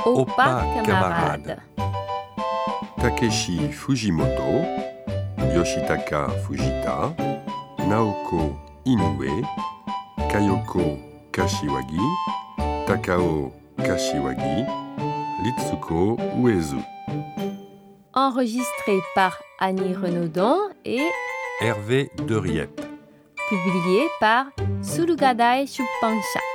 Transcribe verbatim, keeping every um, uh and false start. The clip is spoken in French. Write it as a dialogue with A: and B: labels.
A: Oppa camarade.
B: Takeshi Fujimoto, Yoshitaka Fujita, Naoko Inoue, Kayoko Kashiwagi, Takao Kashiwagi, Ritsuko Uezu.
A: Enregistré par Annie Renaudon et
B: Hervé Deriette.
A: publié par Surugadai Shuppansha.